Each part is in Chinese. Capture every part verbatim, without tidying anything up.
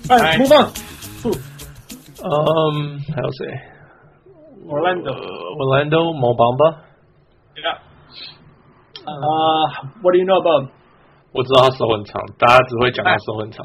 哎 ，move on。 嗯，還有誰 ？Orlando，Orlando Mo Bamba。Yeah。 啊 ，What do you know about？ 我知道他手很長，大家只會講他手很長。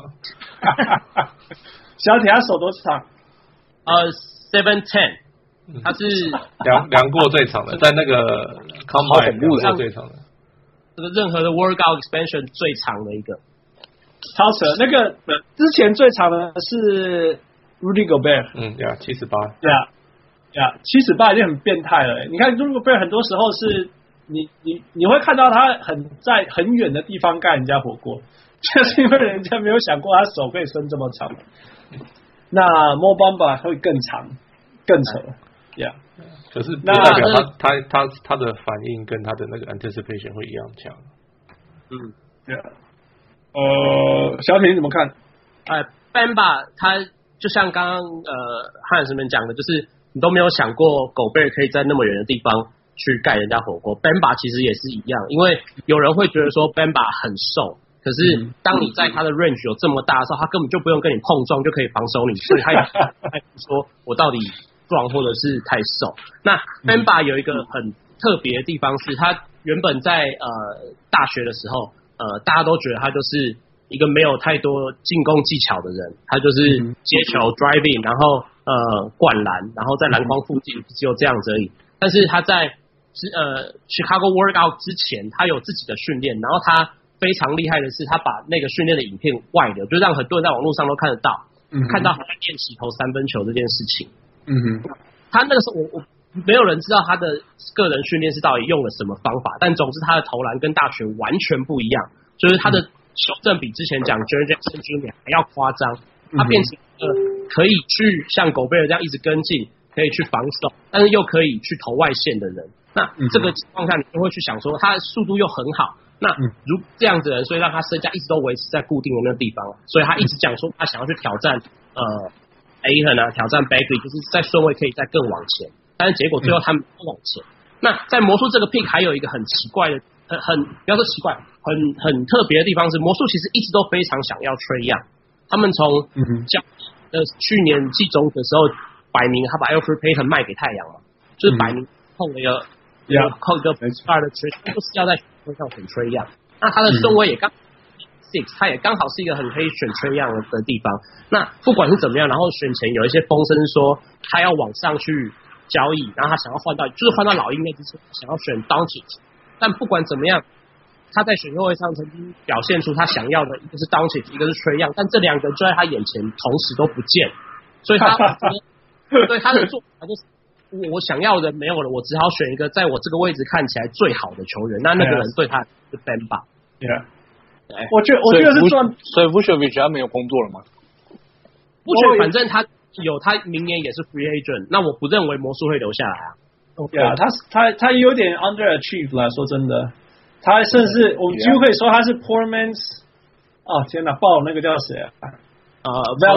小鐵他手多長？ 呃 ，seven ten， 他是量量過最長的，在那個 Combine 量過最長的。 這個任何的 Workout Expansion 最長的一個， 超扯。那個之前最長的是 Rudy Gobert， 嗯呀，七十八， 對啊，對啊，七十八已經很變態了。你看 Rudy Gobert 很多時候是你你你會看到他很在很遠的地方蓋人家火鍋，就是因為人家沒有想過他手可以伸這麼長。那 Mo Bamba 會更長，更扯，呀、yeah。 可是不代表他他他他的反應跟他的那個 anticipation 會一樣強。 嗯，對、yeah。呃，小鐵你怎麼看？ 呃 ，Bamba 他就像剛剛呃漢斯們講的，就是你都沒有想過狗貝可以在那麼遠的地方去蓋人家火鍋。Bamba 其實也是一樣，因為有人會覺得說 Bamba 很瘦，可是當你在他的 range 有這麼大的時候，他根本就不用跟你碰撞就可以防守你，所以他也他說我到底壯或者是太瘦。那 Bamba 有一個很特別的地方是，他原本在呃大學的時候，呃大家都覺得他就是一個沒有太多進攻技巧的人，他就是接球 driving， 然後呃灌籃，然後在籃筐附近只有這樣子而已。但是他在呃 Chicago Workout 之前，他有自己的訓練，然後他非常厲害的是，他把那個訓練的影片外流，就讓很多人在網絡上都看得到，嗯、看到他在練習投三分球這件事情。嗯哼，他那個時候我我沒有人知道他的個人訓練是到底用了什麼方法，但總之他的投籃跟大學完全不一樣，就是他的球證比之前講 Jaren Jackson Junior 還要誇張，他變成一個可以去像狗貝爾這樣一直跟進，可以去防守，但是又可以去投外線的人。那這個情況下，你就會去想說，他的速度又很好。那如這樣子的人，所以讓他身價一直都維持在固定的那個地方，所以他一直講說他想要去挑戰呃 Ayton 啊，挑戰 Bagley， 就是在順位可以再更往前，但是結果最後他們不往前。那在魔術這個 pick 還有一個很奇怪的，很很不要說奇怪，很很特別的地方是，魔術其實一直都非常想要 Trae Young， 他們從交呃去年季中的時候擺明他把 Elfrid Payton 賣給太陽嘛，就是擺明碰了一個。要扣一個二的 Trae， 就是要在選位上選 Trae Young。那他的順位也剛 six， 他也剛好是一個很可以選 Trae Young 的地方。那不管是怎麼樣，然後選前有一些風聲說他要往上去交易，然後他想要換到，就是換到老鷹那之前想要選 Doncic。但不管怎麼樣，他在選秀會上曾經表現出他想要的一個是 Doncic， 一個是 Trae Young， 但這兩個就在他眼前同時都不見，所以他對他的做法就是。我想要的沒有了，我只好選一個在我這個位置看起來最好的球員。那那個人對他是 Bamba。Yeah. 我覺得我覺得是賺， 所以 Vucevic 他沒有工作了嗎？ 不覺，反正他有，他明年也是 free agent。那我不認為魔術會留下來啊。 對啊，他他他有點 underachieve 啦，說真的，他甚至我們幾乎可以說他是 poor man's。哦天哪，爆那個叫誰啊？呃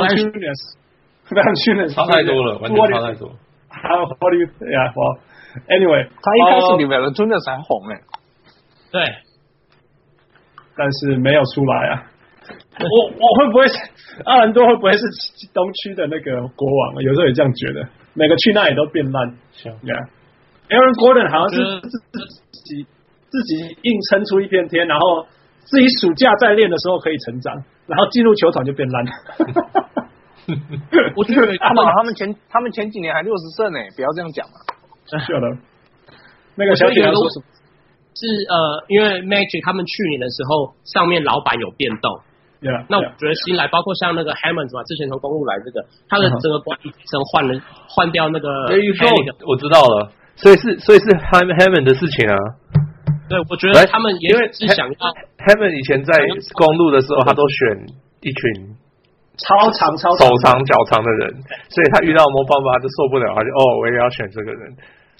，Valanciunas，Valanciunas 差太多了，完全差太多。 How how do you yeah well anyway 他一開始比 Valanciunas 還紅哎， 對， 但是沒有出來啊。我我會不會是阿蘭多會不會是東區的那個國王？有時候也這樣覺得，每個去那裡都變爛。Yeah Aaron Gordon 好像是自己自己硬撐出一片天，然後自己暑假在練的時候可以成長，然後進入球場就變爛。 我覺得他們他們前他們前幾年還六十勝呢，不要這樣講嘛。 是的，那個小姐說什麼？ 是呃，因為 Magic 他們去年的時候，上面老板有變動。 Yeah, 那我覺得新來，包括像那個 Hammond 嘛，之前從公路來這個，他的整個管理層換了換掉那個。 我知道了，所以是所以是 Hammond 的事情啊。 對，我覺得他們也是想要 Hammond 以前在公路的時候，他都選一群。 超長超長手長腳長的人，所以他遇到Mo Bamba他就受不了，他就哦，我也要選這個人。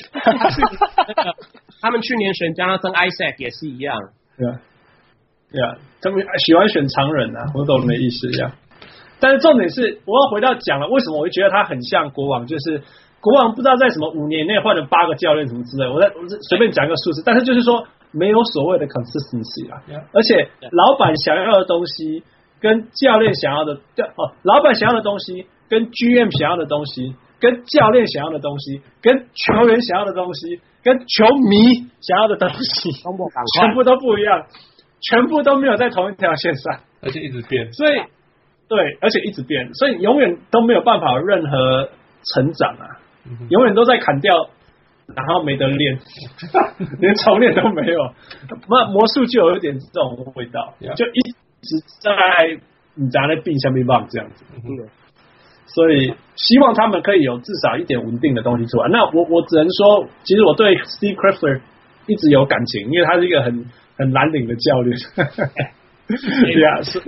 他們去年選 Jonathan Isaac 也是一樣。 對啊，對啊，他們喜歡選長人啊，我懂你的意思一樣。但是重點是，我要回到講了，為什麼我會覺得他很像國王？就是國王不知道在什麼五年內換了八個教練什麼之類，我在我隨便講一個數字，但是就是說沒有所謂的 consistency 啊，而且老板想要的東西。 跟教練想要的哦，老闆想要的東西，跟 G M 想要的東西，跟教練想要的東西，跟球員想要的東西，跟球迷想要的東西，全部都不一樣，全部都沒有在同一條線上， 而且一直變，所以對，而且一直變，所以永遠都沒有辦法有任何成長啊，嗯、永遠都在砍掉。然後沒得練，連重練都沒有。那魔術就有一點這種味道， yeah. 就一直在你在那病下面棒這樣子。嗯、所以希望他們可以有至少一點穩定的東西出來。那我我只能說，其實我對 Steve Clifford 一直有感情，因為他是一個很很藍領的教練。對啊，是。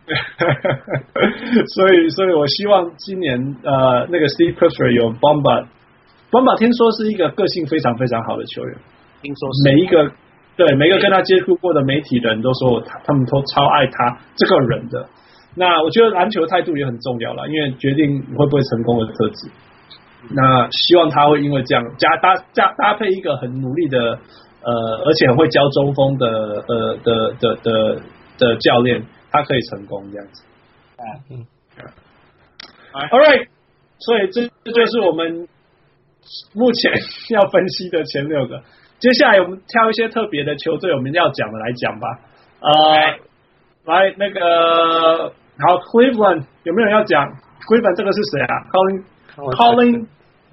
所以所以我希望今年呃那個 Steve Clifford 有 Bamba。Bamba 聽說是一個個性非常非常好的球員， 聽說是每一個對每一個跟他接觸過的媒體人都說他他們都超愛他這個人的。那我覺得籃球態度也很重要啦，因為決定會不會成功的特質。那希望他會因為這樣加搭加搭配一個很努力的呃，而且很會教中鋒的呃的的的的教練，他可以成功這樣子。嗯 ，All right， 所以這這就是我們目前要分析的前六個，接下來我們挑一些特別的球隊，我們要講的來講吧。呃，來那個好 ，Cleveland 有沒有人要講 ？Cleveland 這個是誰啊 ？Colin Colin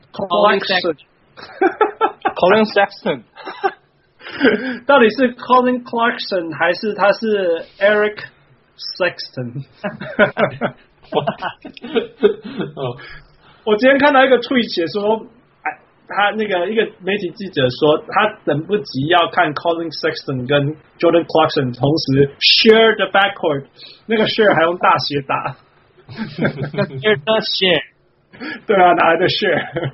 Clarkson，Colin Sexton， 到底是 Colin Clarkson 還是他是 Eric Sexton？ 我今天看到一個 tweet 寫說。他那個一個媒體記者說，他等不及要看 Colin Sexton 跟 Jordan Clarkson 同時 share the backcourt， 那個 share 還用大寫打。 share， 對啊，哪來的 share？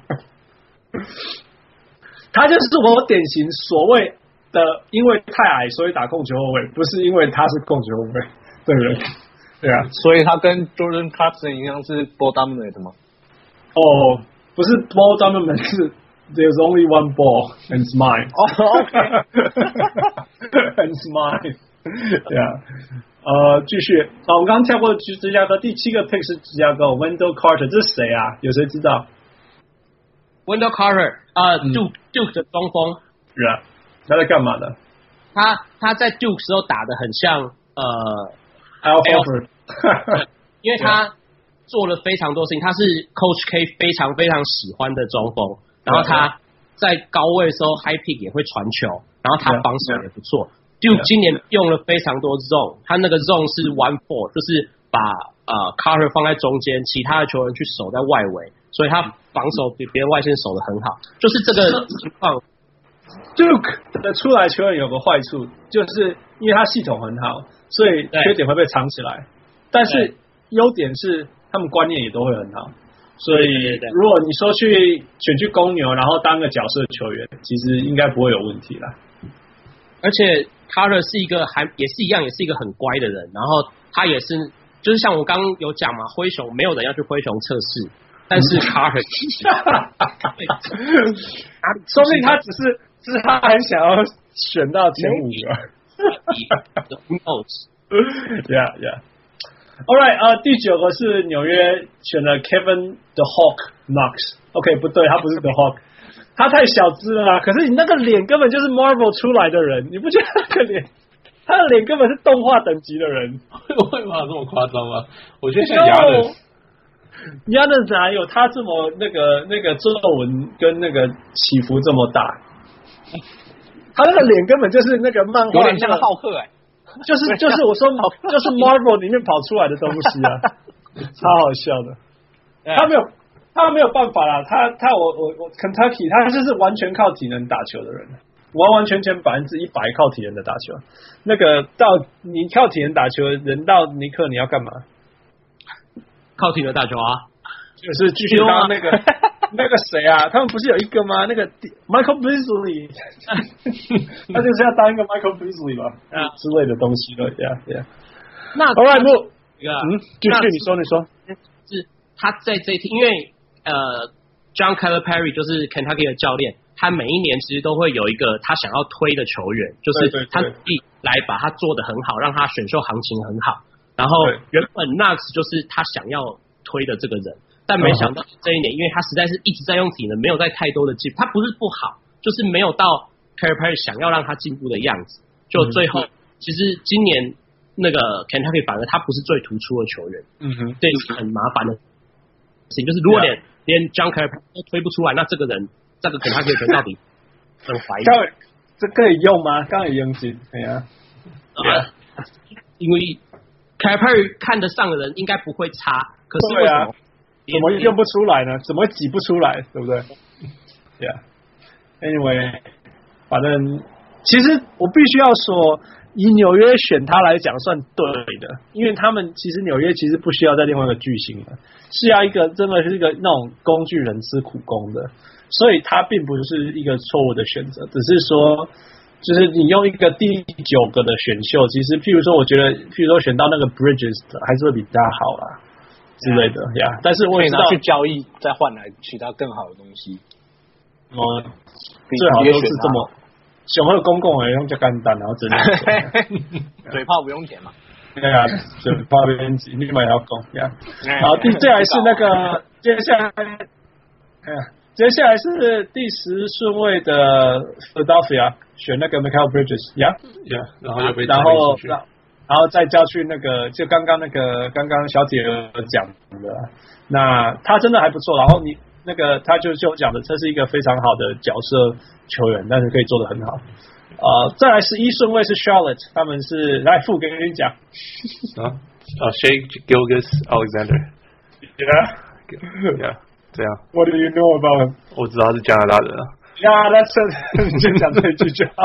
他就是我典型所謂的，因為太矮所以打控球後衛，不是因為他是控球後衛，對不對？對啊， 所以他跟 Jordan Clarkson 一樣是 ball dominant 嗎？ 哦，不是 ball dominant 是。There's only one ball, and it's mine. Oh, okay. And it's mine. Yeah. 呃，繼續。啊，我們剛剛跳過芝芝加哥，第七個 pick 是芝加哥 Wendell Carter， 這是誰啊？有誰知道 ？Wendell Carter， 呃、uh, ，Duke Duke 的中鋒。 是啊，他在幹嘛的？ 他他在 Duke 時候打得很像呃 Al Horford， 因為他做了非常多事情，他是 Coach K 非常非常喜歡的中鋒。然後他在高位的時候 high pick 也會傳球，然後他防守也不錯。就今年用了非常多 zone， 他那個 zone 是 one four， 就是把呃 Carter 放在中間，其他的球員去守在外圍，所以他防守比別人外線守得很好。就是這個情況。 Duke 的出來球員有個壞處，就是因為他系統很好，所以缺點會被藏起來。但是優點是他們觀念也都會很好。所以，如果你說去選去公牛，然後當個角色球員，其實應該不會有問題啦。 而且 Carter 是一個還也是一樣，也是一個很乖的人。然後他也是，就是像我剛剛有講嘛，灰熊沒有人要去灰熊測試，但是 Carter， 說不定他只是，只是他很想要選到前五個。 Who knows? Yeah, yeah. All right， 呃，第九個是紐約選了 Kevin the Hawk Knox。OK， 不對，他不是 the Hawk， 他太小只了啦。可是你那個臉根本就是 Marvel 出來的人，你不覺得那個臉，他的臉根本是動畫等級的人？ 會嗎？這麼誇張嗎？我覺得像 Giannis，Giannis 哪有他這麼那個那個皺紋跟那個起伏這麼大？他那個臉根本就是那個漫畫， 有點像浩克哎、欸。 就是就是我說就是 Marvel 裡面跑出來的東西啊，超好笑的。他沒有他沒有辦法啦，他他我我我 Kentucky 他就是完全靠體能打球的人，完完全全百分之一百靠體能的打球。那個到你靠體能打球，人到尼克你要幹嘛？ 靠體能打球啊， 就是繼續當那個。那個誰啊？他們不是有一個嗎？那個 Michael Beasley， 他就是要當一個 Michael Beasley 吧，啊之類的東西的呀呀。那 All right， 不，嗯，繼續你說你說， 是他在這一天，因為呃 ，John Calipari 就是 Kentucky 的教練，他每一年其實都會有一個他想要推的球員，就是他自己來把他做得很好，讓他選秀行情很好。 然後原本 Knox 就是他想要推的這個人，但沒想到這一年，因為他實在是一直在用體能，沒有在太多的進步。他不是不好，就是沒有到 Calipari Perry 想要讓他進步的樣子。就最後，嗯、其實今年那個 Kentucky 反而他不是最突出的球員。嗯哼，這是很麻煩的事情，就是如果連、yeah. 連 John Calipari 都推不出來，那這個人這個 Kentucky 球員到底很懷疑。 這可以用嗎？剛才用進，對呀、啊。Yeah. 因為 Calipari 看得上的人應該不會差，可是為什麼、啊、 怎麼用不出來呢？怎麼會擠不出來？對不對 ？Yeah. Anyway， 反正其實我必須要說，以紐約選他來講算對的，因為他們其實紐約其實不需要再另外一個巨星了，是要一個真的是一個那種工具人吃苦工的，所以他並不是一個錯誤的選擇，只是說。就是你用一個第九個的選秀，其實譬如說，我覺得譬如說選到那個 Bridges 還是會比較好啦之類的呀。Yeah. Yeah. 但是我也知道去交易再換來取到更好的東西。 哦、嗯，最好都是這麼選會公共的用就簡單，然後真的嘴炮不用錢嘛。 對啊，嘴炮不用錢，你買要公呀。然後第接下來是那個接下來，哎呀。接下來是第十順位的 Philadelphia 選那個 Mikal Bridges， 呀、yeah? 呀，然後又被然後然後再交去那個，就剛剛那個剛剛小鐵講的，那他真的還不錯。然後你那個他就就講的，這是一個非常好的角色球員，但是可以做得很好。呃，再來十一順位是 Charlotte， 他們是來副跟你講啊啊 Shai Gilgeous-Alexander，yeah yeah。這樣 What do you know about him？ 我知道他是加拿大人啊。 呀，那這你先講這一句就好。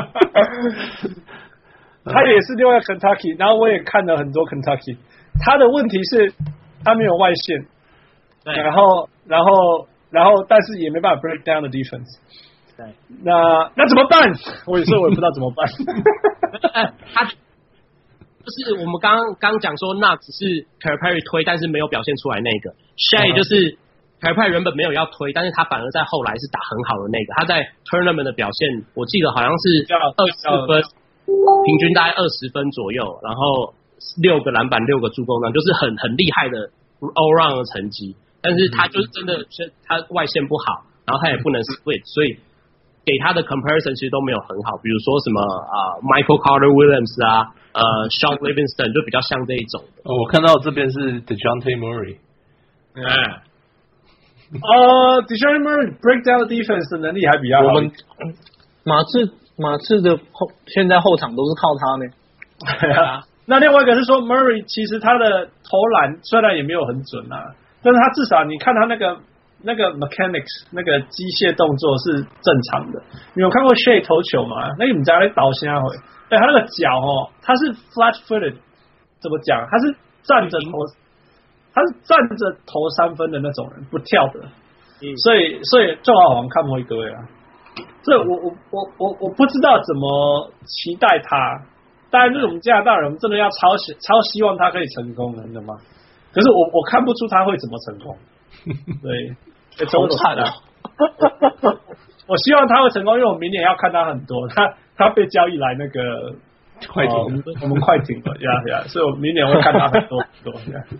他也是另外 Kentucky， 然後我也看了很多 Kentucky。他的問題是，他沒有外線，然後然後然後，但是也沒辦法 break down the defense。對，那那怎麼辦？我也說我也不知道怎麼辦。 他就是我們剛剛講說，那只是 Calipari 推，但是沒有表現出來那個 Shai 就是。Calipari原本沒有要推，但是他反而在後來是打很好的那個。他在 tournament 的表現，我記得好像是二十分，平均大概二十分左右，然後六個籃板、六個助攻，那就是很很厲害的 all round 的成績。但是他就是真的，他外線不好，然後他也不能 split， 所以給他的 comparison 其實都沒有很好。比如說什麼啊、呃、Michael Carter Williams 啊，呃 Sean Livingston 就比較像這一種的。 哦，我看到這邊是 DeJounte Murray， 嗯。呃 DeJounte Murray break down defense 的能力還比較好。 我們馬刺馬刺的後現在後場都是靠他呢。 對啊。那另外一個是說 Murray 其實他的投籃雖然也沒有很準啊，但是他至少你看他那個那個 mechanics 那個機械動作是正常的。你有看過 Shai 投球嗎？那個你在那倒下回，哎，他那個腳哦，他是 flat footed， 怎麼講？他是站着投。他是站着投三分的那種人，不跳的，嗯、所以所以正好我們看不會各位啊。這我我我我我不知道怎麼期待他。當然，就是我們加拿大人，我們真的要超希超希望他可以成功的，你知道嗎？可是我我看不出他會怎麼成功。對，好慘啊！我希望他會成功，因為我明年要看他很多。他他被交易來那個快艇、呃， 我們快艇了呀呀，所以我明年會看他很多很多。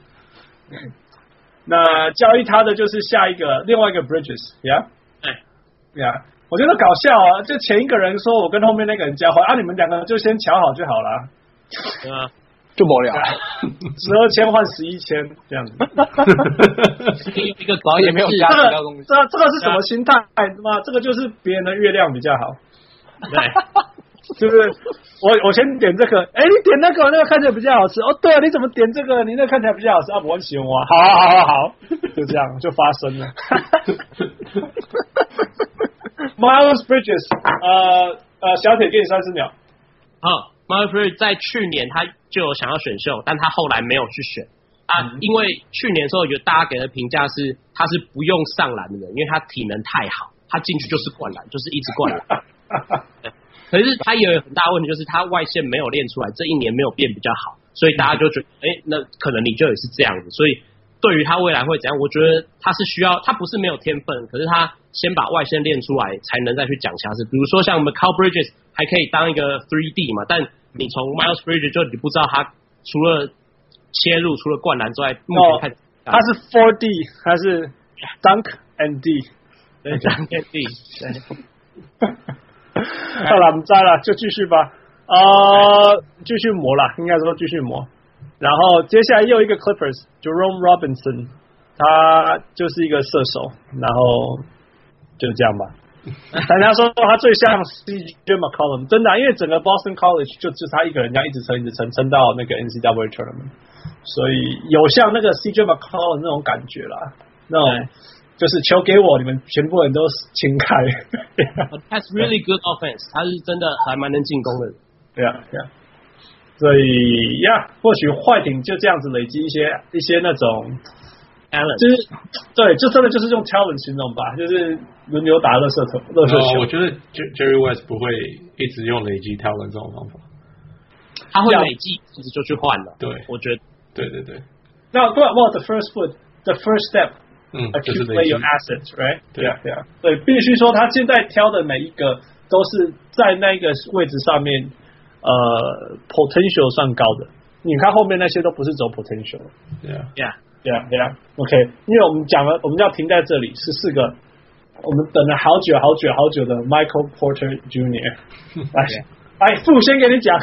那交易他的就是下一個另外一個 Bridges， 呀，哎，呀，我覺得搞笑啊！就前一個人說我跟後面那個人交換啊，你們兩個就先瞧好就好了， 啊，就無聊， 十二千換十一千這樣子， 一個搞也沒有加其他東西， 這這個是什麼心態嗎？這個就是別人的月亮比較好，對。就是我我先點這個，哎，你點那個，那個看起來比較好吃。哦，對啊，你怎麼點這個？你那個看起來比較好吃啊！我很喜歡啊，好好好好好，就這樣就發生了。Miles Bridges， 呃呃，小鐵給你三十秒。 好 ，Miles Bridges 在去年他就有想要選秀，但他後來沒有去選啊，嗯、因為去年的時候有大家給的評價是他是不用上籃的人，因為他體能太好，他進去就是灌籃，就是一直灌籃。可是他也有很大問題，就是他外線沒有練出來，這一年沒有變比較好，所以大家就覺得，哎、欸，那可能你就也是這樣子。所以對於他未來會怎樣，我覺得他是需要，他不是沒有天分，可是他先把外線練出來，才能再去講其他事。比如說像 Mikal Bridges 還可以當一個 three D 嘛，但你從 Miles Bridges 就你不知道他除了切入，除了灌籃之外，目前看、哦、 他是 four D， 他是 dunk and D， 對 dunk and D， 對。 好了，我們摘了，就繼續吧。呃，繼續磨啦，應該說繼續磨。然後接下來又一個 Clippers Jerome Robinson， 他就是一個射手，然後就這樣吧。大家說他最像 C J McCollum， 真的、啊，因為整個 Boston College 就就是他一個人這樣一直撐一直撐撐到那個 N C double A tournament， 所以有像那個 C J McCollum 那種感覺啦，那種就是球給我，你們全部人都清開。 That's really good offense， 他是真的還蠻能進攻的。 對啊，對啊。所以呀，或許快艇就這樣子累積一些一些那種。就是對，就真的就是用 talent 形容吧，就是輪流打垃圾球。垃圾球， 我覺得 Jerry West 不會一直用累積 talent 這種方法， 他會累積，其實就去換了。 對， 我覺得， 對對對。 那 well the first foot, the first step， 嗯， accumulate your assets, right？ 对啊， 对啊，对，必須說他現在挑的每一個都是在那個位置上面，呃 ，potential 算高的。你看後面那些都不是走 potential。 對啊， 對啊。 對啊，對啊 ，OK， 因為我們講了，我們要停在這裡，是四個，我們等了好久好久好久的 Michael Porter Junior 來，來，父先給你講，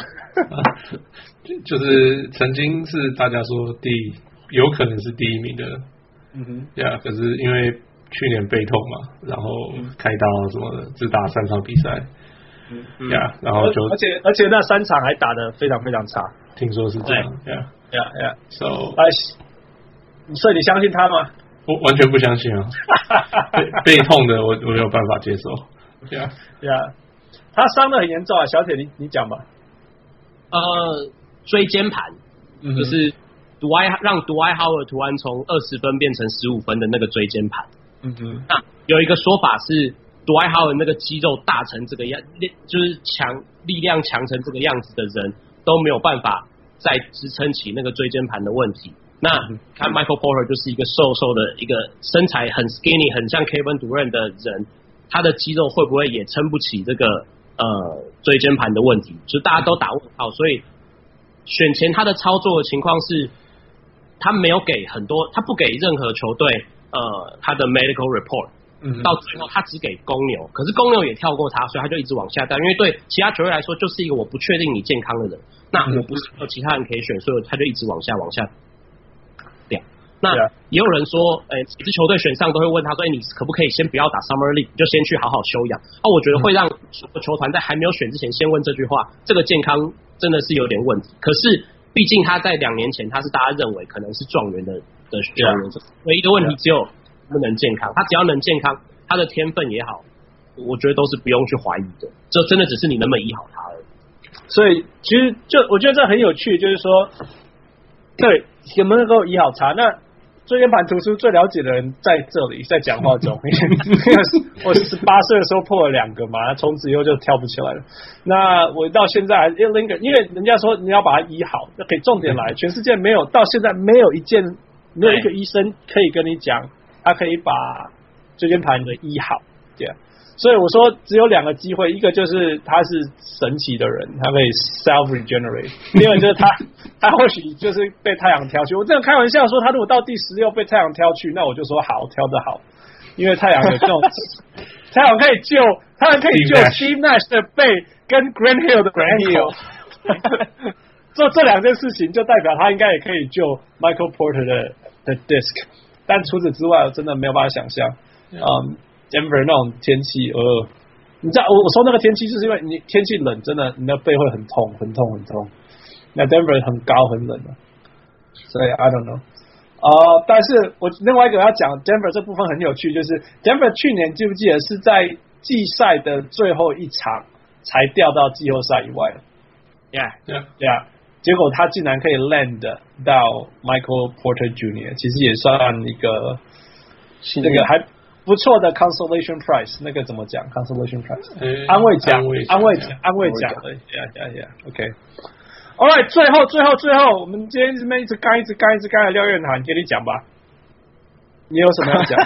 就是曾經是大家說第一，有可能是第一名的，嗯哼，對啊，可是因為去年背痛嘛，然後開刀什麼的，只打三場比賽，嗯，對啊，然後就而且而且那三場還打得非常非常差， 聽說是這樣，對啊， 對啊，對啊 ，So， 來。所以你相信他嗎？ 我完全不相信啊！背背痛的我我沒有辦法接受。對啊， 對啊，他傷得很嚴重啊，小鐵你你講吧。 呃，椎間盤、嗯、就是 Dwight 讓 Dwight Howard 突然從二十分變成十五分的那個椎間盤。嗯哼，那有一個說法是 Dwight Howard 那個肌肉大成這個樣，就是強力量強成這個樣子的人都沒有辦法再支撐起那個椎間盤的問題。那看 Michael Porter 就是一個瘦瘦的一個身材很 skinny 很像 Kevin Durant 的人，他的肌肉會不會也撐不起這個呃椎間盤的問題？就大家都打問號，所以選前他的操作的情況是，他沒有給很多，他不給任何球隊呃他的 medical report， 到最後他只給公牛，可是公牛也跳過他，所以他就一直往下掉，因為對其他球隊來說就是一個我不確定你健康的人，那我不是有其他人可以選，所以他就一直往下往下。那也有人說，哎、欸，幾支球隊選上都會問他說，哎、欸，你可不可以先不要打 Summer League， 就先去好好休養？啊，我覺得會讓球團在還沒有選之前先問這句話，這個健康真的是有點問題。可是，畢竟他在兩年前他是大家認為可能是狀元的的球員，唯一的問題只有不能健康。他只要能健康，他的天分也好，我覺得都是不用去懷疑的。這真的只是你能不能醫好他而已。 所以，其實就我覺得這很有趣，就是說，對，有沒有能夠醫好他？那椎間盤突出最了解的人在這裡，在講話中，我十八歲的時候破了兩個嘛，從此以後就跳不起來了。那我到現在還 linger， 因為人家說你要把它醫好，那可以重點來，全世界沒有到現在沒有一件沒有一個醫生可以跟你講，他可以把椎間盤的醫好，對啊。所以我說只有兩個機會，一個就是他是神奇的人，他可以 self regenerate； 第二個就是他他或許就是被太陽挑去。我這樣開玩笑說，他如果到第十六被太陽挑去，那我就說好，挑得好，因為太陽有這種太陽可以救，太陽可以救 Steve Nash 的背跟 Grant Hill 的 Grant Hill， 做這兩件事情就代表他應該也可以救 Michael Porter 的的 disc， 但除此之外，我真的沒有辦法想象，嗯。Um, Denver 那種天氣，呃，你知道我我說那個天氣，就是因為你天氣冷，真的你的背會很痛，很痛，很痛。那 Denver 很高很冷的，所以 I don't know。呃，但是我另外一個要講 Denver 這部分很有趣，就是 Denver 去年記不記得是在季賽的最後一場才掉到季後賽以外的 ？Yeah, yeah, yeah。結果他竟然可以 land 到 Michael Porter Junior， 其實也算一個那個還。不錯的 consolation prize， 那個怎麼講 ？consolation prize，、欸、安慰獎，安慰獎，安慰獎的 ，yeah yeah yeah，OK。All right， 最後最後最後，我們今天這邊一直幹一直幹一直幹的廖彥涵，給你講吧。你有什麼要講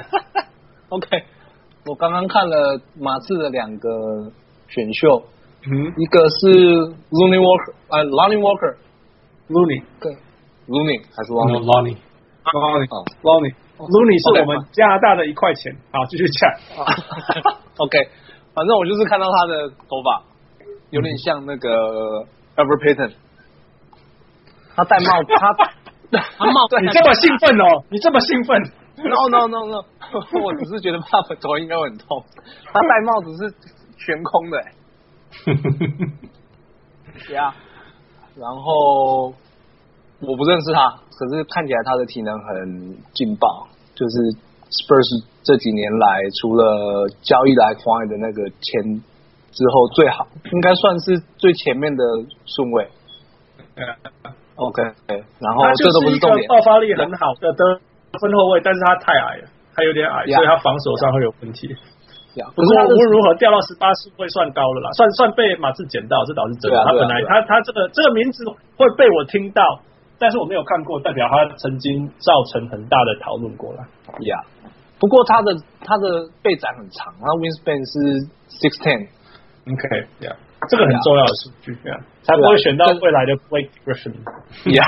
？OK， 我剛剛看了馬刺的兩個選秀，嗯，一個是 Looney Walker，呃 Lonnie Walker，Looney， 對， Looney 還是 Lonnie？Lonnie，Lonnie，Lonnie 是我們加拿大的一塊錢。好，繼續講。 OK， 反正我就是看到他的頭髮有點像那個 Elfrid Payton， 他戴帽子，他他帽子， 你這麼興奮哦？你這麼興奮 ？No No No No， 我只是覺得他的頭應該會很痛。他戴帽子是懸空的、欸。呀、yeah ，然後我不認識他，可是看起來他的體能很勁爆。就是 Spurs 這幾年來，除了交易來 Kawhi 的那個簽之後，最好應該算是最前面的順位。OK， 然後這都不是重點。 爆發力很好的得分後衛，但是他太矮了，他有點矮， yeah, 所以他防守上會有問題。 Yeah, 不過無論如何掉到十八順位算高了啦，算算被馬刺撿到，這倒是真的。啊、他本來、啊、他他這個這個名字會被我聽到，但是我沒有看過，代表他曾經造成很大的討論過啦。 呀、yeah. 不過他的他的臂展很長，他 wingspan 是 six ten。OK， 呀、yeah. 這個很重要的數據，呀、yeah. 才不會選到未來的 Blake Griffin。 呀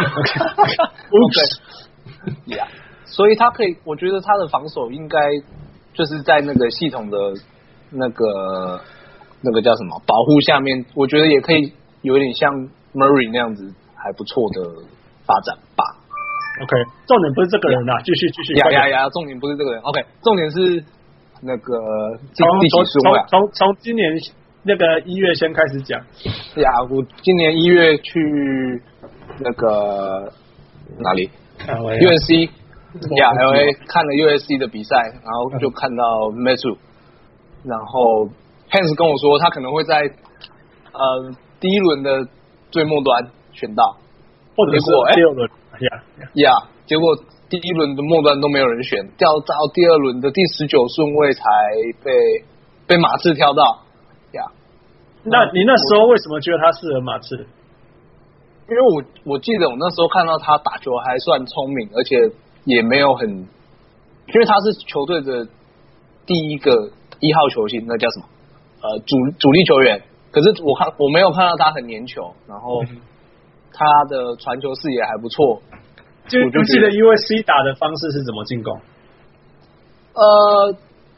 ，OK， 呀，所以他可以，我覺得他的防守應該。就是在那個系統的那個那個叫什麼保護下面，我覺得也可以有點像 Murray 那樣子還不錯的發展吧。 OK， 重點不是這個人啊，繼續繼續。 呀呀呀，重點不是這個人。OK， 重點是那個從從從從從今年那個一月先開始講。 呀，我今年一月去那個哪裡 ？U N C。呀、yeah, ，L A 看了 U S C 的比賽，然後就看到 Metu， 然後 Hans 跟我說他可能會在呃第一輪的最末端選到， 或者是第二輪，呀呀，結果第一輪的末端都沒有人選，掉到第二輪的第十九順位才被被馬刺挑到，呀、yeah, 那你那時候為什麼覺得他適合馬刺？ 因為我我記得我那時候看到他打球還算聰明，而且也沒有很，因為他是球隊的第一個一號球星，那叫什麼？呃，主主力球員。可是我看我沒有看到他很粘球，然後他的傳球視野還不錯。 就我就記得 U S C 打的方式是怎麼進攻？ 呃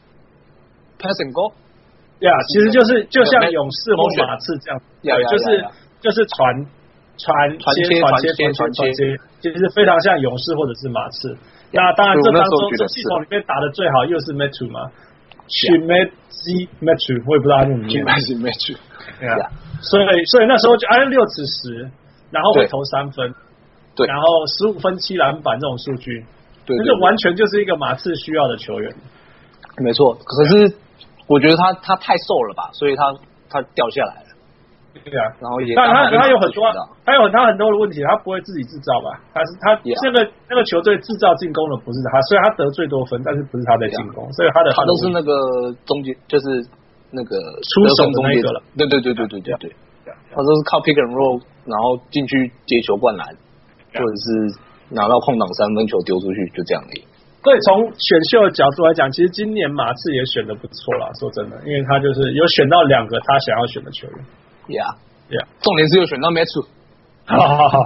，pass and go。 呀，其實就是就像勇士或馬刺這樣，對，就是就是傳。傳接傳接傳接傳接，其實非常像勇士或者是馬刺。那當然，這當中這系統裡面打的最好又是 Metu 嘛 ，Chimezie Metu， 我也不知道他怎麼念 ，Chimezie Metu。 所以所以那時候就哎六尺十，然後會投三分， 對， 然後十五分七籃板這種數據， 對， 那就完全就是一個馬刺需要的球員。 沒錯，可是我覺得他他太瘦了吧，所以他他掉下來了。 對啊， 然後也， 但他他有很多，他有他很多的問題，他不会自己製造吧？他是他這個那個球隊製造進攻的不是他，所以他得最多分，但是不是他在進攻，所以他的他都是那個中間，就是那個出手的那個了。 對對对对对对对，他都是靠 pick and roll， 然後進去接球灌籃，或者是拿到空檔三分球丟出去，就這樣而已。 所以從選秀的角度來講，其實今年馬刺也選的不錯啦，說真的，因為他就是有選到兩個他想要選的球員。 Yeah, yeah. 重點是有選到 Metu。 好好好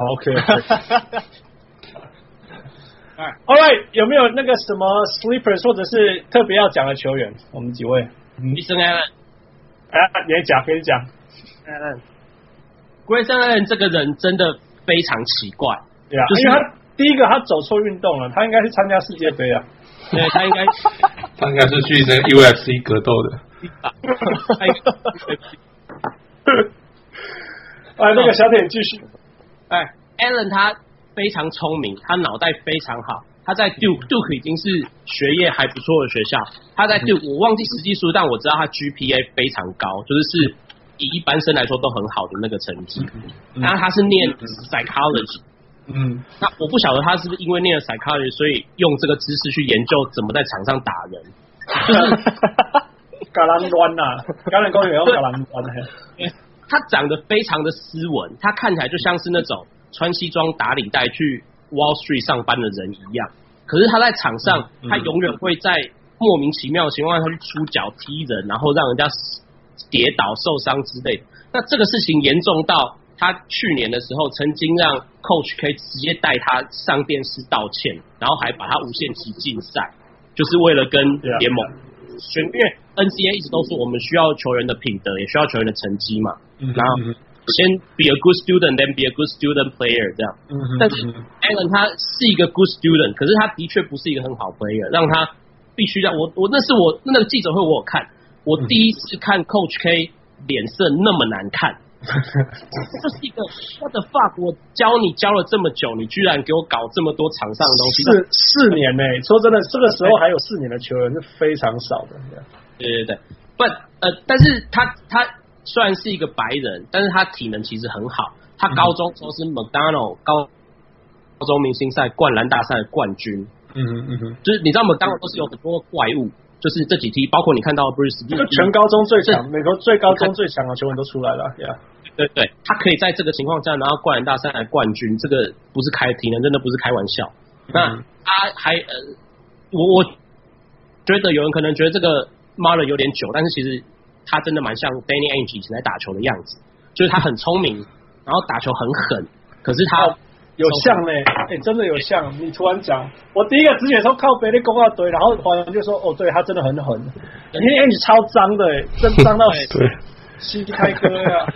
，OK。All right， 有沒有那個什麼 sleepers 或者是特別要講的球員？我們幾位？ 醫生 Allen， 哎，你講，可以講。 Grayson Allen 這個人真的非常奇怪， 對啊，就是因為他第一個他走錯運動了，他應該是參加世界杯啊。 對，他應該， 他應該是去那 U F C 格鬥的。 哎，那個小點繼續。 哎 ，Allen 他非常聰明，他腦袋非常好。他在 Duke Duke 已經是學業還不錯的學校。他在 Duke 我忘記實際數，但我知道他 G P A 非常高，就是是以一般生來說都很好的那個成績。然後他是念 psychology， 嗯，那我不曉得他是不是因為念了 psychology， 所以用這個知識去研究怎麼在場上打人，就是橄欖灣吶，橄欖公園用橄欖灣。 他長得非常的斯文，他看起來就像是那種穿西裝打領帶去 Wall Street 上班的人一樣。可是他在場上，嗯嗯、他永遠會在莫名其妙的情況下去出腳踢人，然後讓人家跌倒受傷之類的。那這個事情嚴重到他去年的時候曾經讓 Coach 可以直接帶他上電視道歉，然後還把他無限期禁賽，就是為了跟聯盟宣，因為 N C A A 一直都說我們需要球員的品德，也需要球員的成績嘛，嗯、然後先 be a good student then be a good student player 這樣，嗯、但是 Allen 他是一個 good student， 可是他的確不是一個很好 player， 讓他必須讓我我那是我那個記者會我有看，我第一次看 Coach K 臉色那麼難看。這是一個 what the fuck！ 我教你教了這麼久，你居然給我搞這麼多場上的東西。 四四年呢、欸？說真的，這個時候還有四年的球員是非常少的。 對對對，不呃，但是他他雖然是一個白人，但是他體能其實很好。他高中時候是 McDonald 高高中明星賽灌籃大賽的冠軍。嗯哼嗯哼，就是你知道 McDonald 都是有很多怪物。就是這幾梯，包括你看到 Bruce， 就全高中最強，美國最高中最強的球員都出来了，對、yeah. 對對，他可以在這個情況下拿到灌籃大赛的冠軍，這個不是開體能，真的不是開玩笑。嗯、那他還呃，我我覺得有人可能覺得這個 Marlon 有點久，但是其實他真的蠻像 Danny Ainge 以前在打球的樣子，就是他很聰明，然後打球很狠，可是他。哦有像呢、欸，哎、欸，真的有像。你突然講，我第一個直覺說靠北的公告堆，然後華人就說，哦，對他真的很狠，因為你超髒的、欸，真髒到膝開哥呀。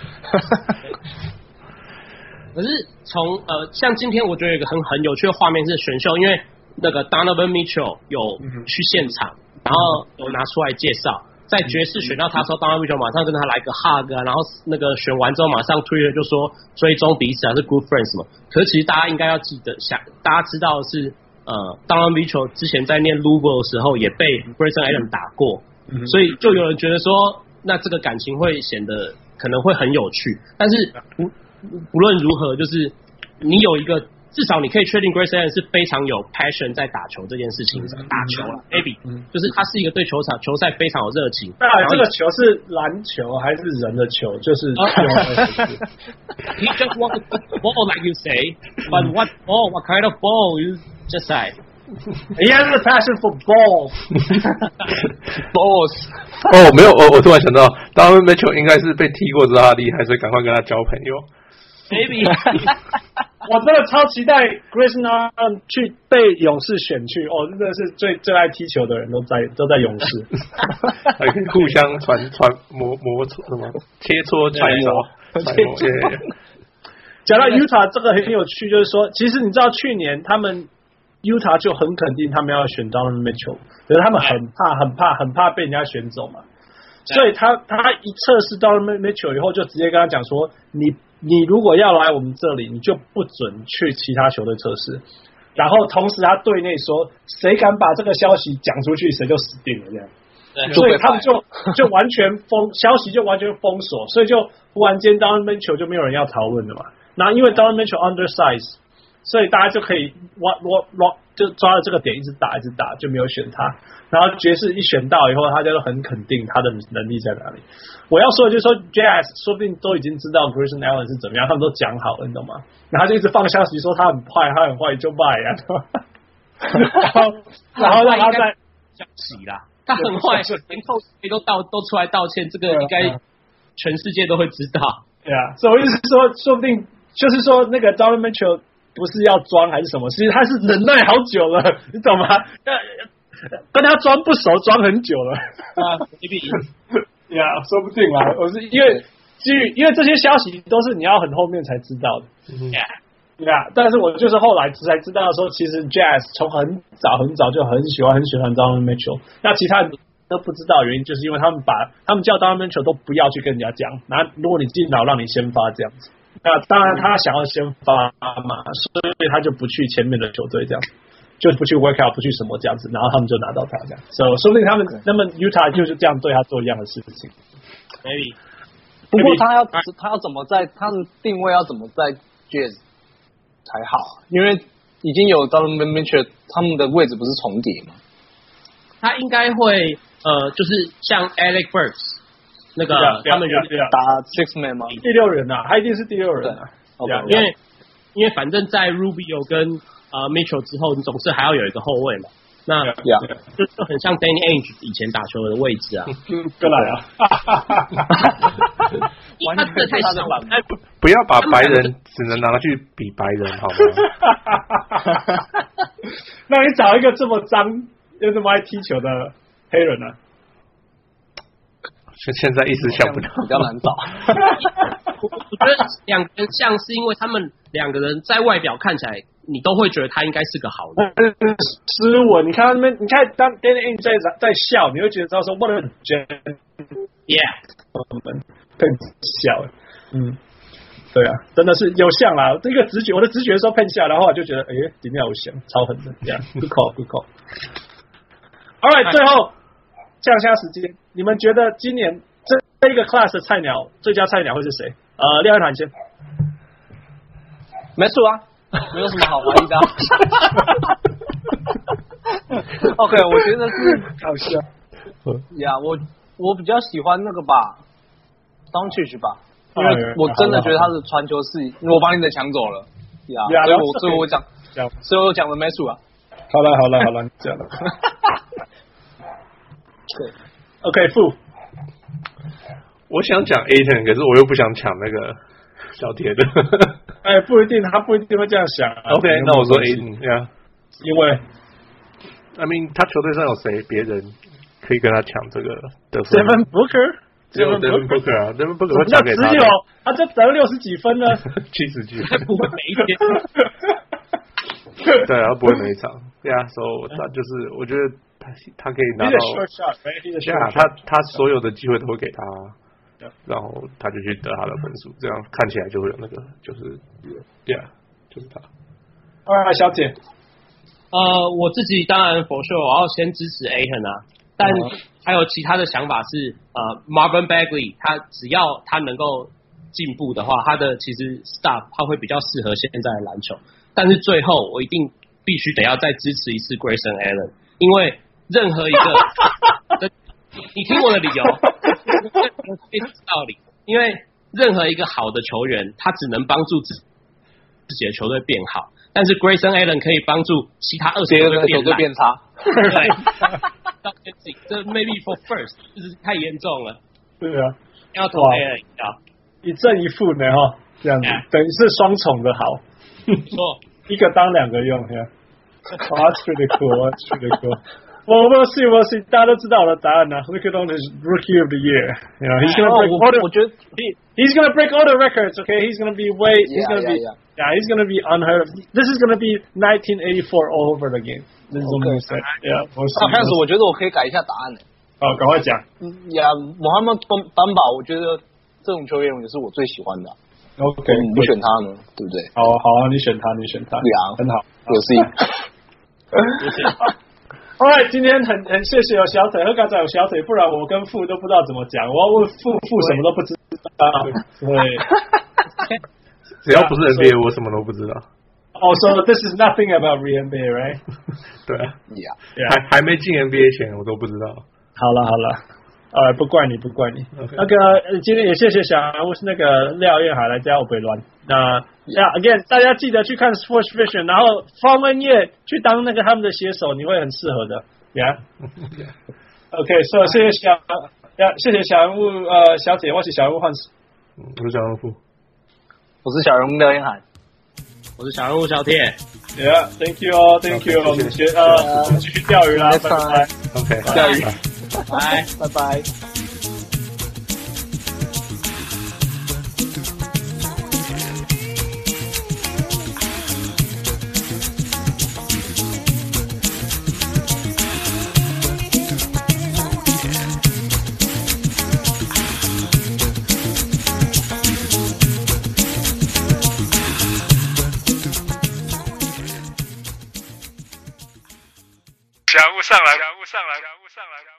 可是從呃，像今天我覺得有一個很很有趣的畫面是選秀，因為那個 Donovan Mitchell 有去現場，然後有拿出來介紹。在爵士選到他時候，當然 Mitchell 馬上跟他來個 hug 啊，然後那個選完之後馬上推了就說追蹤彼此還是 good friends 嘛。可是其實大家應該要記得，想大家知道的是，呃，當然 Mitchell 之前在念 Louisville 的時候也被 Grayson Allen 打過，嗯、所以就有人覺得说，那這個感情會顯得可能會很有趣。但是不不論如何，就是你有一個。至少你可以確定 Grayson Allen 是非常有 passion 在打球這件事情上，嗯、打球了 ，maybe，、嗯、就是他是一個對球場球賽非常有熱情。 當然，這個球是籃球還是人的球？就是。 He just want a ball, like you say, but what ball? What kind of ball? You just say. He has a passion for ball. Balls. 哦，沒有，我我突然想到 Donovan Mitchell 應該是被踢過，知道他厲害，所以趕快跟他交朋友。 Maybe 我真的超期待 Grayson Allen 去被勇士選去哦，真的是最最愛踢球的人都在都在勇士， 還可以互相傳傳磨磨什麼切磋揣摩揣摩。 講到 Utah 這個很有趣，就是說，其實你知道去年他們 Utah 就很肯定他們要選 Donovan Mitchell， 可是他們很怕很怕很怕被人家選走嘛，所以他他一測試 Donovan Mitchell 以後，就直接跟他講說你。你如果要來我們這裡，你就不准去其他球隊測試。然後同時他對內說，誰敢把這個消息講出去，誰就死定了這樣。對，所以他們就就完全封消息，就完全封鎖，所以就忽然間 Donovan Mitchell 就沒有人要討論了嘛。然後因為 Donovan Mitchell undersize， 所以大家就可以挖挖挖，就抓了這個點一直打一直打，就沒有選他。然後爵士一選到以後，他就很肯定他的能力在哪裡。我要說的就是說 ，Jazz 說不定都已經知道 Grayson Allen 是怎麼樣，他們都講好了，你懂嗎？然後就一直放消息說他很壞，他很壞就賣啊，然後然後讓他在消息啦，他很壞，連扣誰都道都出來道歉，這個應該全世界都會知道。對啊，所以我意思是說，說不定就是說那個 Donovan Mitchell 不是要裝還是什麼，其實他是忍耐好久了，你懂嗎？跟他裝不熟，裝很久了啊 ，maybe， 呀，說不定啦。我是因為基於因為這些消息都是你要很後面才知道的，呀、嗯，呀，但是我就是後來才知道說，其實 Jazz 從很早很早就很喜歡很喜歡 Donovan Mitchell， 那其他人都不知道原因，就是因為他們把他們叫 Donovan Mitchell 都不要去跟人家講，那如果你進腦讓你先發這樣子，那當然他想要先發嘛，所以他就不去前面的球隊這樣。就不去 work out， 不去什麼這樣子，然後他們就拿到他這樣，所、so, 以說不定他們那麼 Utah 就是這樣對他做一樣的事情。 Maybe， 不過他要他要怎麼在他的定位要怎麼在 Jazz 才好？因為已經有 Donovan Mitchell， 他們的位置不是重疊嗎？ 他應該會呃，就是像 Alec Burks 那個 yeah, yeah, 他們有打 six man 嗎？ 第六人啊，他一定是第六人啊。 Okay, 因為因為反正在 Rubio 跟呃 Mitchell 之後，你總是還要有一個後衛嘛。 那 yeah. 就就很像 Danny Ainge 以前打球的位置啊。 过來啊！ 完全是他的版本。 不要把白人只能拿去比白人好嗎？ 那你找一個這麼髒又這麼愛踢球的黑人啊？ 現現在一時想不到， 比較難找。 我我覺得兩個人像是因為他們兩個人在外表看起來，你都會覺得他應該是個好的。 斯文，你看他們，你看當 Danny Ainge 在在笑，你會覺得他說 What a gentleman，yeah， 更笑，嗯，對啊，真的是有像啦。這個直覺，我的直覺說噴下，然後我就覺得，哎，裡面有像，超狠的，這樣 good call good call。All right，最後降下時間，你們覺得今年這這一個 class 的菜鳥最佳菜鳥會是誰？呃，廖一涵先， 沒錯啊。沒有什麼好懷疑的、啊。OK， 我覺得是好笑。 呀，我我比較喜歡那個吧 Doncic 吧，因為我真的覺得他的傳球是，因為我把你的搶走了。呀，所以我所以我講，所以我講的沒錯啊。 好了好了好了，你講了。對 ，OK， 負。 我想講 Ayton， 可是我又不想搶那個小鐵的。 哎，不一定，他不一定會這樣想、啊。 OK， 那我說 Ayton， 呀、yeah. 因為 I mean， 他球隊上有誰別人可以跟他搶這個得分 ？Devin Booker， 只有 Devin Booker 啊 ，Devin Booker 會搶給他。只有他就得了六十幾分呢， 七十幾分，不會每一天。 對啊，不會每一場。對啊，所以他就是，我覺得他他可以拿到。對啊，他他所有的機會都會給他。然後他就去得他的分數，這樣看起來就會有那個，就是 ，yeah， 就是他。 啊，小姐， 呃，我自己當然 for sure 我要先支持 Ayton 啊，但還有其他的想法是，呃 ，Marvin Bagley 他只要他能夠進步的話，他的其實 stuff 他會比較適合現在的籃球。但是最後我一定必須得要再支持一次 Grayson Allen， 因為任何一個。你聽我的理由，非常道理。因為任何一個好的球員，他只能幫助自自己的球隊變好，但是 Grayson Allen 可以幫助其他二十個球隊變差。對，這 maybe for first 就是太嚴重了。 對啊， 要投 Allen 啊， 一正一負呢哈，這樣子、yeah. 等於是雙重的好。 錯， 一個當兩個用呀。Wow, that's pretty cool. That's pretty cool. Well, we'll see, we'll see. 大家都知道了答案呢。Luka Doncic is Rookie of the Year. You know, he's gonna break all the. 我覺得 he he's gonna break all the records. Okay, he's gonna be way. He's gonna be. Yeah, yeah, he's gonna be unheard of. This is gonna be nineteen eighty-four all over again. This is what we said. Yeah, we'll see. 开始我覺得我可以改一下答案呢。 好，趕快講。 呀，穆罕默德班巴，我覺得這種球員也是我最喜歡的。 OK， 你不選他呢，對不對？ 好好啊，你選他，你選他。 對啊， 很好， 有事。 Alright， 今天很很謝謝有小腿，和剛才有小腿，不然我跟傅都不知道怎麼講。我要問傅，傅什麼都不知道。對， 只要不是 N B A， 我什麼都不知道。 Oh, so this is nothing about N B A, right? 對啊， yeah, yeah. 還還沒進 N B A 前，我都不知道。 好了好了，呃，不怪你，不怪你。Okay. 那個今天也謝謝小人物是那個廖燕海來加我北亂。那呀 ，again， 大家記得去看 Sports Vision， 然後方文業去當那個他們的寫手，你會很適合的。Yeah。OK， 所以謝謝小呀，謝謝小人物呃小姐，我是小人物幻視。 我是小人物， 我是小人物廖燕海， 我是小人物小鐵。 Yeah，Thank you 哦 ，Thank you， 我們學呃繼續釣魚啦，拜拜。 OK， 釣魚， 拜拜拜。 小人物上來，小人物上來，小人物上來。